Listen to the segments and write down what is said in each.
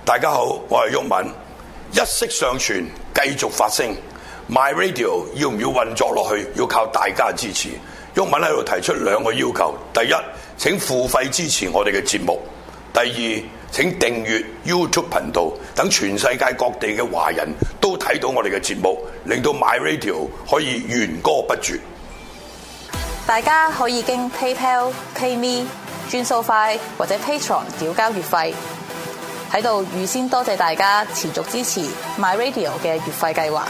大家好，我係毓民，一息尚存，繼續發聲。My Radio 要唔要運作落去？要靠大家支持。毓民喺度提出兩個要求：第一，請付費支持我哋嘅節目；第二，請訂閱 YouTube 頻道，等全世界各地嘅華人都睇到我哋嘅節目，令到 My Radio 可以源歌不絕。 大家可以經 PayPal、PayMe、轉數快或者 Patreon 繳交月費。喺度預先多謝大家持續支持 My Radio 嘅月費計劃。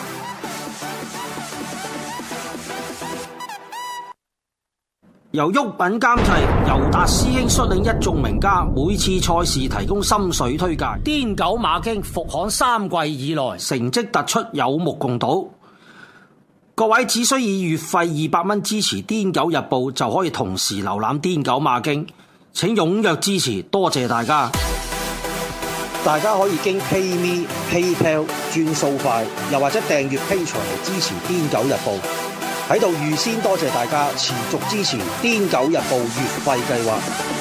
由毓民監製，尤達師兄率領一眾名家，每次賽事提供心水推介。癲狗馬經復刊3季以來，成績突出，有目共睹。各位只需以月費200蚊支持癲狗日報，就可以同時瀏覽癲狗馬經。請踴躍支持，多謝大家！大家可以經 PayMe、PayPal 轉數快，又或者訂閱 Patreon 嚟支持癲狗日報。喺度預先多謝大家持續支持癲狗日報月費計劃。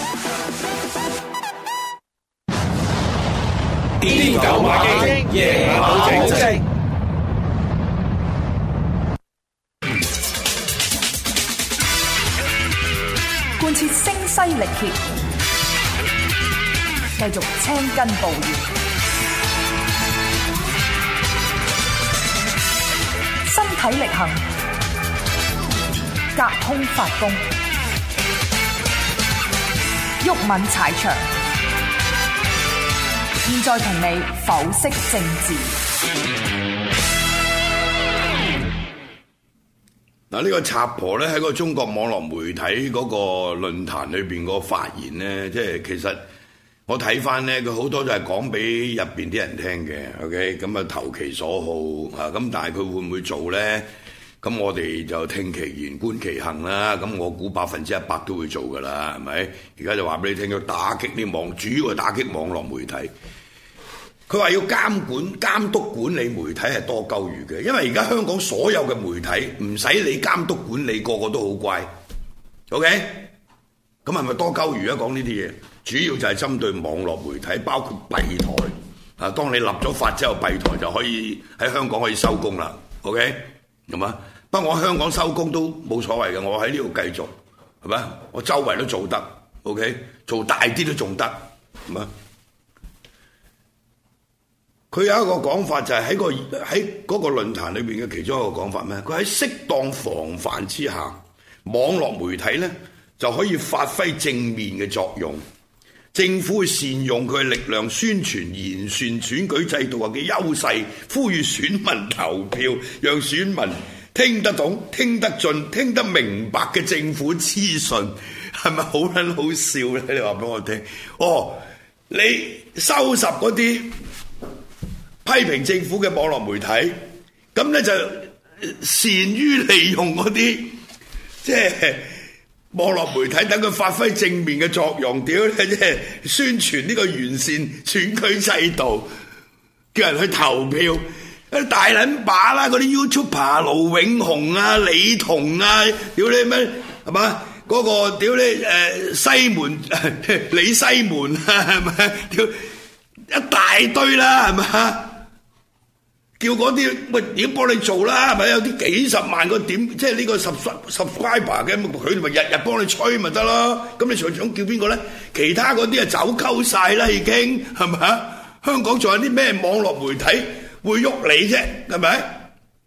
癲狗馬經，夜馬保證。 貫徹聲嘶力竭，繼續青筋暴現，身體力行，隔空發功，毓民踩場。現在同你剖析政治。 嗱，呢個賊婆咧喺個中國網絡媒體嗰個論壇裏邊個發言咧，即係其實我睇翻咧，佢好多都係講俾入邊啲人聽嘅。OK， 咁啊投其所好啊，咁但係佢會唔會做咧？咁我哋就聽其言觀其行啦。咁我估100%都會做噶啦，係咪？而家就話俾你聽，要打擊啲主要係打擊網絡媒體。佢話要監督管理媒體係多鳩餘嘅，因為而家香港所有嘅媒體唔使你監督管理，個個都好乖。OK， 咁係咪多鳩餘啊？講呢啲嘢，主要就係針對網絡媒體，包括閉台啊。當你立咗法之後，閉台就可以喺香港可以收工啦。OK， 係嘛？不過我香港收工都冇所謂嘅，我喺呢度繼續係咪？我周圍都做得 OK， 做大啲都仲得係嘛？佢有一個講法就係喺嗰個論壇裏邊嘅其中一個講法咩？佢喺適當防範之下，網絡媒體呢就可以發揮正面嘅作用。政府會善用佢嘅力量宣傳完善選舉制度嘅優勢，呼籲選民投票，讓選民聽得懂、聽得盡、聽得明白嘅政府資訊，係咪好撚好笑咧？你話俾我聽。哦，你收拾嗰啲批評政府嘅網絡媒體，咁咧就善於利用嗰啲即係網絡媒體，等佢發揮正面嘅作用。屌你，即係宣傳呢個完善選舉制度，叫人去投票。大撚把啦，嗰啲 YouTuber 盧永雄啊、李彤啊，屌你咩係嘛？嗰個屌你西門李西門啊，係咪？屌一大堆啦，係咪？叫嗰啲喂點幫你做啦，係咪？有啲幾十萬個點，即係呢個 subscriber 嘅，佢咪日日幫你吹咪得咯？咁你想叫邊個咧？其他嗰啲啊走鳩晒啦，已經係咪？香港仲有啲咩網絡媒體會喐你啫？係咪？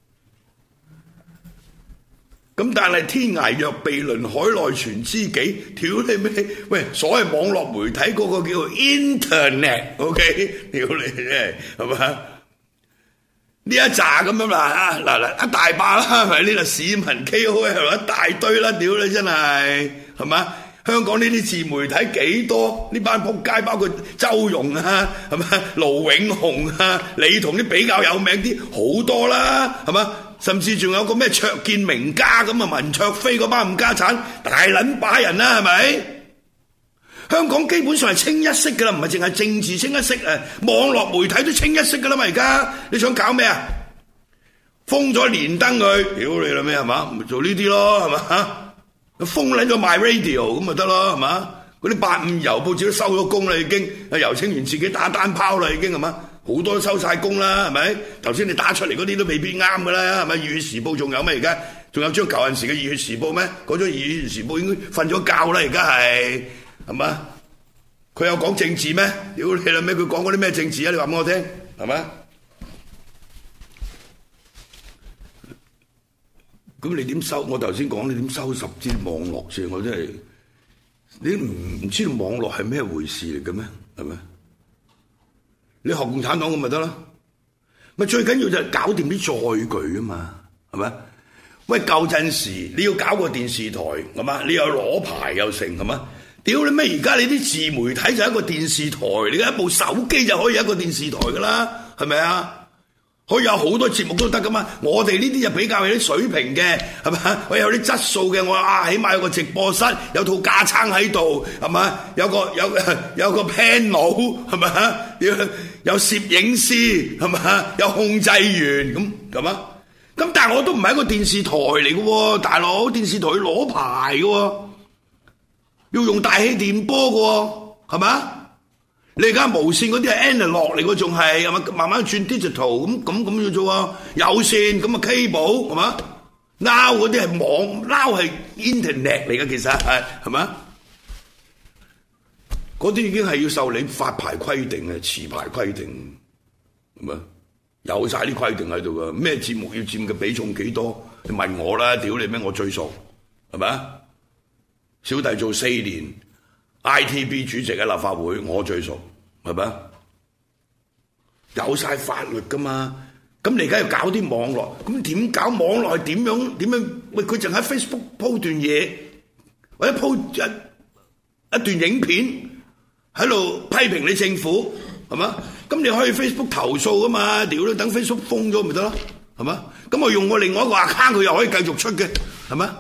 咁但係天涯若比鄰，海內存知己，屌你咩？喂，所謂網絡媒體嗰個叫做 internet，OK？ 屌你啫，係咪？呢一紮咁樣啦，嗱一大把啦，係咪？呢個市民 KOL 一大堆啦，屌你真係，係嘛？香港呢啲自媒體幾多？呢班仆街包括周融啊，係咪？盧永雄啊，你同啲比較有名啲好多啦，係嘛？甚至仲有個咩卓見名家咁啊，文卓飛嗰班冚家產，大撚把人啦，係咪？香港基本上係清一色噶啦，唔係淨係政治清一色啊，網絡媒體都清一色噶啦嘛。而家你想搞咩啊？封咗連登佢，屌你啦咩係嘛？咪做呢啲咯係嘛？封撚咗 My Radio 咁咪得咯係嘛？ 嗰啲852郵報紙都收咗工啦，已經。游清源自己打單拋啦，已經係嘛？好多都收晒工啦，係咪？頭先你打出嚟嗰啲都未必啱㗎啦，係咪？《熱血時報》仲有咩而家？仲有張舊陣時嘅《熱血時報》咩？嗰張《熱血時報》應該瞓咗覺啦，而家係嘛？佢有講政治咩？屌你老味，佢講嗰啲咩政治啊？你話俾我聽，係咪？咁你點收？我頭先講你點收拾啲網絡先？我真係你唔知道網絡係咩回事嚟嘅咩？係咪？你學共產黨咁咪得啦？咪最緊要就係搞掂啲載具啊嘛，係咪？喂，舊陣時你要搞個電視台係嘛？你又攞牌又成係嘛？屌你咩？而家你啲自媒體就係一個電視台，你而家一部手機就可以一個電視台噶啦，係咪啊？可以有好多節目都得噶嘛。我哋呢啲就比較有啲水平嘅，係咪？我有啲質素嘅，我起碼有個直播室，有套架撐喺度，係咪？有個 panel， 係咪？有攝影師，係咪？有控制員咁啊？咁但係我都唔係一個電視台嚟嘅喎，大佬，電視台要攞牌嘅喎，要用大氣電波嘅喎，係咪？你而家無線嗰啲係 analog 嚟嘅，仲係嘛？慢慢轉 digital 咁要做啊，有線咁啊 cable 係嘛 ？now 嗰啲係網 now 係 internet 嚟嘅，其實係咪？嗰啲已經係要受你發牌規定嘅，持牌規定係咪？有晒啲規定喺度㗎，咩節目要佔嘅比重幾多？你問我啦，屌你咩？我最熟係咪？小弟做4年 ITB 主席喺立法會，我最熟係咪？有晒法律㗎嘛？咁你而家要搞啲網絡，咁點搞網絡係點樣？喂，佢淨喺 Facebook 鋪段嘢，或者鋪一段影片喺度批評你政府係嘛？咁你可以 Facebook 投訴㗎嘛？屌你，等 Facebook 封咗咪得咯？係嘛？咁我用我另外一個 account 佢又可以繼續出嘅，係嘛？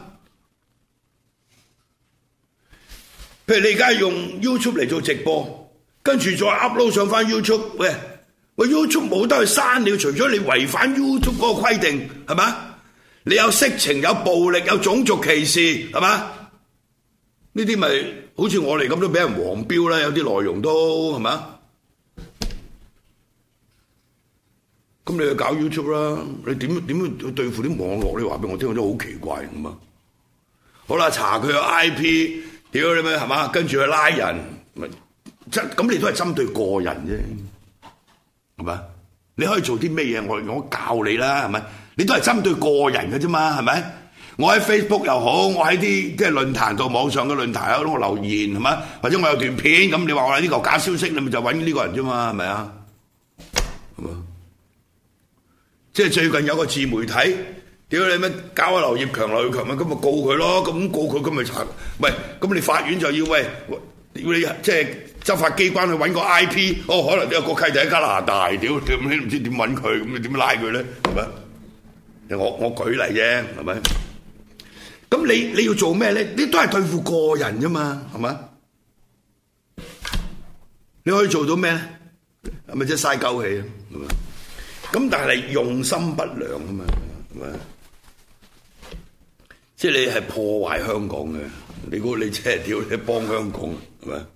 譬如你而家用 YouTube 嚟做直播，跟住再 upload 上翻 YouTube， 喂 YouTube 冇得去刪你，除咗你違反 YouTube 嗰個規定，係嘛？你有色情、有暴力、有種族歧視，係嘛？呢啲咪好似我哋咁都俾人黃標啦，有啲內容都係嘛？咁你去搞 YouTube 啦，你點去對付啲網絡？你話俾我聽，我真係好奇怪咁啊！好啦，查佢個 IP， 屌你咩係嘛？跟住去拉人，咁你都係針對個人啫，係咪？你可以做啲咩嘢？我教你啦，係咪？你都係針對個人嘅啫嘛，係咪？我喺 Facebook 又好，我喺啲即係論壇度，網上嘅論壇有我留言係嘛？或者我有段片咁，你話我係呢個假消息，你咪就揾呢個人啫嘛，係咪啊？係嘛？即係最近有個自媒體，屌你咩搞阿劉業強咪咁咪告佢咯，咁告佢咁咪查，喂，咁你法院就要要你即係執法機關去揾個 IP， 可能有個契弟喺加拿大，屌你唔知點揾佢，咁你點拉佢咧？係咪？我舉例啫，係咪？咁你要做咩咧？你都係對付個人啫嘛，係咪？你可以做到咩咧？係咪即係嘥鳩氣啊？係咪？咁但係用心不良啊嘛，係咪？即係你係破壞香港嘅，你估你即係屌你幫香港係咪？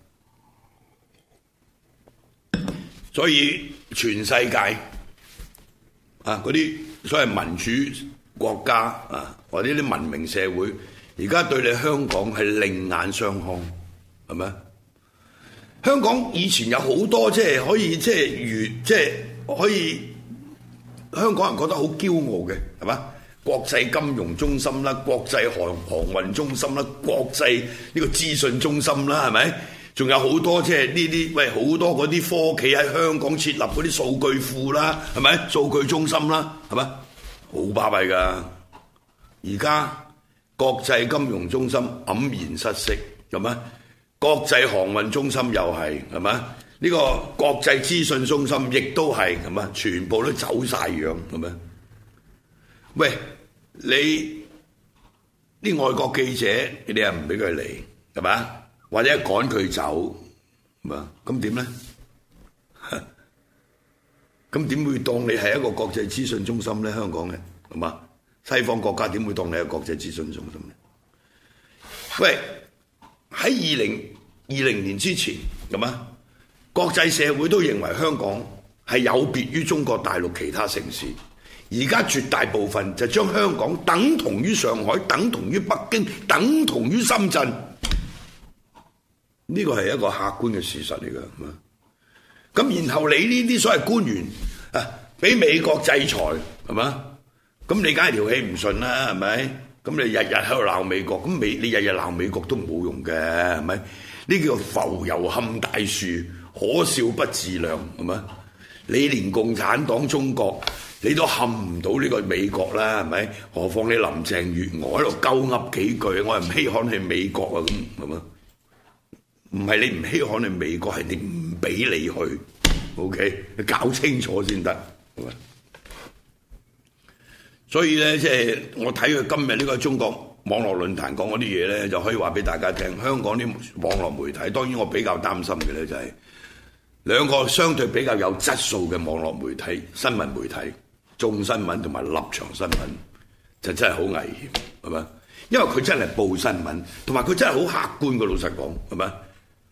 所以全世界啊嗰啲所謂民主國家啊或者啲文明社會，而家對你香港係另眼相看，係咪？香港以前有好多即係可以即係可以。香港人覺得好驕傲嘅係嘛？國際金融中心啦，國際航運中心啦，國際呢個資訊中心啦，係咪？仲有好多即係呢啲好多嗰啲科企喺香港設立嗰啲數據庫啦，係咪？數據中心啦，係咪？好巴閉㗎！而家國際金融中心黯然失色，係咪？國際航運中心又係咪？呢個國際資訊中心亦都係咁啊，全部都走晒樣咁啊！喂，你啲外國記者，你又唔俾佢嚟，係嘛？或者趕佢走，係嘛？咁點咧？咁點會當你係一個國際資訊中心咧？香港嘅係嘛？西方國家點會當你係國際資訊中心咧？喂，喺 2020年之前咁啊，國際社會都認為香港係有別於中國大陸其他城市。而家絕大部分就將香港等同於上海、等同於北京、等同於深圳，呢個係一個客觀嘅事實嚟㗎。咁然後你呢啲所謂官員啊，俾美國制裁係嘛？咁你梗係條氣唔順啦，係咪？咁你日日喺度鬧美國，咁你日日鬧美國都冇用嘅，係咪？呢叫浮油撼大樹，可笑不自量，係嘛？你連共產黨中國你都撼唔到呢個美國啦，係咪？何況你林鄭月娥喺度鳩噏幾句，我係唔稀罕係美國啊，咁係嘛？唔係你唔稀罕係美國，係你唔俾你去 ，OK？ 你搞清楚先得，係咪？所以咧，即係我睇佢今日呢個中國網絡論壇講嗰啲嘢咧，就可以話俾大家聽。香港啲網絡媒體，當然我比較擔心嘅咧就係兩個相對比較有質素嘅網絡媒體、新聞媒體，眾新聞同埋立場新聞，就真係好危險，係咪？因為佢真係報新聞，同埋佢真係好客觀嘅。老實講，係咪？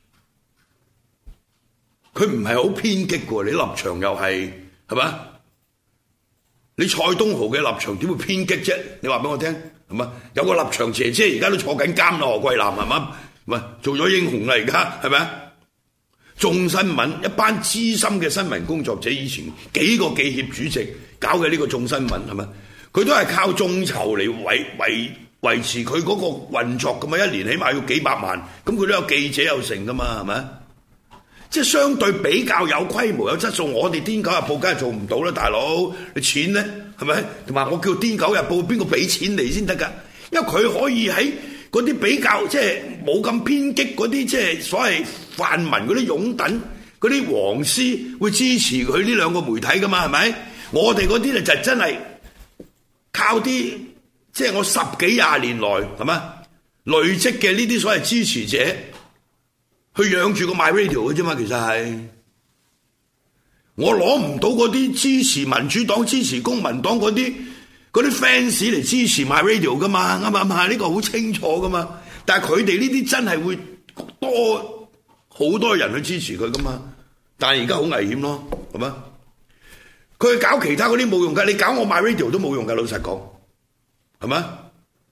佢唔係好偏激嘅，你立場又係咪？你蔡東豪嘅立場點會偏激啫？你話俾我聽係嘛？有個立場姐姐而家都坐緊監啦，何桂藍係嘛？唔係做咗英雄啦，而家係咪啊？眾新聞一班資深嘅新聞工作者，以前幾個記協主席搞嘅呢個眾新聞係咪？佢都係靠眾籌嚟維持佢嗰個運作㗎嘛，一年起碼要幾百萬，咁佢都有記者有成㗎嘛，係咪？即係相對比較有規模有質素，我哋《癲狗日報》梗係做唔到啦，大佬，你錢咧係咪？同埋我叫《癲狗日報》，邊個俾錢嚟先得㗎？因為佢可以喺嗰啲比較即係冇咁偏激嗰啲，即係所謂泛民嗰啲擁躉嗰啲黃絲會支持佢呢兩個媒體㗎嘛？係咪？我哋嗰啲咧就真係靠啲即係我十幾廿年來係嘛累積嘅呢啲所謂支持者。去養住個 MyRadio 嘅啫嘛，其實係我攞唔到嗰啲支持民主黨、支持公民黨嗰啲 fans 嚟支持 MyRadio 噶嘛，啱唔啱？呢個好清楚噶嘛。但係佢哋呢啲真係會多好多人去支持佢噶嘛。但係而家好危險咯，係嘛？佢去搞其他嗰啲冇用㗎，你搞我 MyRadio 都冇用㗎，老實講，係嘛？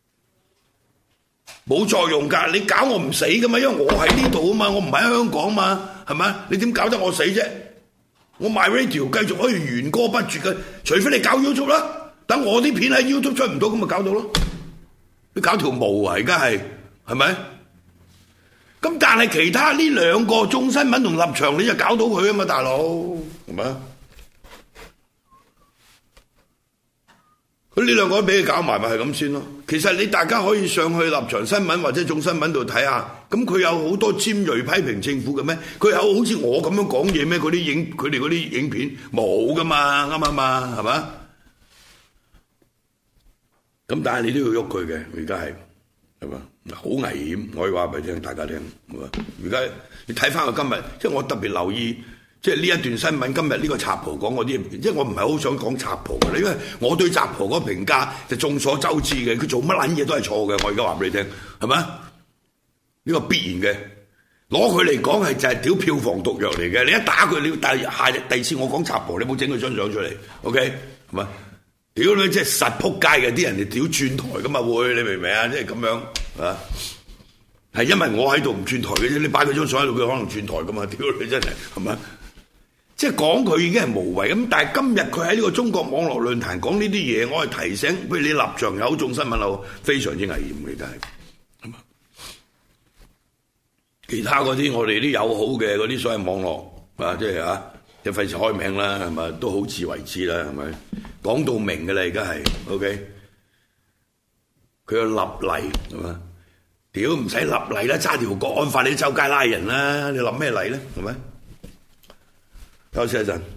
冇作用㗎，你搞我唔死㗎嘛，因為我喺呢度啊嘛，我唔喺香港嘛，係咪？你點搞得我死啫？我 MyRadio 繼續可以弦歌不絕嘅，除非你搞 YouTube 啦，等我啲片喺 YouTube 出唔到，咁咪搞到咯。你搞條毛啊，而家係咪？咁但係其他呢兩個眾新聞同立場，你就搞到佢啊嘛，大佬，係咪？咁呢兩個都俾佢搞埋，咪係咁先咯。其實你大家可以上去立場新聞或者眾新聞度睇下，咁佢有好多尖鋭批評政府嘅咩？佢有好似我咁樣講嘢咩？佢哋嗰啲影片冇噶嘛，啱唔啱啊？係嘛？咁但係你都要喐佢嘅，而家係嘛？好危險，我可以話俾大家聽。而家你睇翻佢今日，即係我特別留意。即係呢一段新聞，今日呢個賊婆講嗰啲，即係我唔係好想講賊婆嘅，因為我對賊婆嗰個評價就眾所周知嘅，佢做乜撚嘢都係錯嘅。我而家話俾你聽，係咪？呢個必然嘅，攞佢嚟講係就係屌票房毒藥嚟嘅。你一打佢，你第二次我講賊婆，你冇整佢張相出嚟 ，OK 係咪？屌你即係實撲街嘅，啲人哋屌轉台噶嘛會，你明唔明啊？即係咁樣啊，係因為我喺度唔轉台嘅啫，你擺佢張相喺度，佢可能轉台噶嘛？屌你真係係咪？即係講佢已經係無謂咁，但係今日佢喺呢個中國網絡論壇講呢啲嘢，我係提醒，譬如你立場有眾新聞有非常之危險嘅，真係。其他嗰啲我哋啲友好嘅嗰啲所謂網絡啊，即係啊，即係費事開名啦，係咪都好自為之啦，係咪？講到明嘅啦，而家係 OK。佢要立例係嘛？屌唔使立例啦，揸條國安法你周街拉人啦，你立咩例咧？係咪？休息一陣。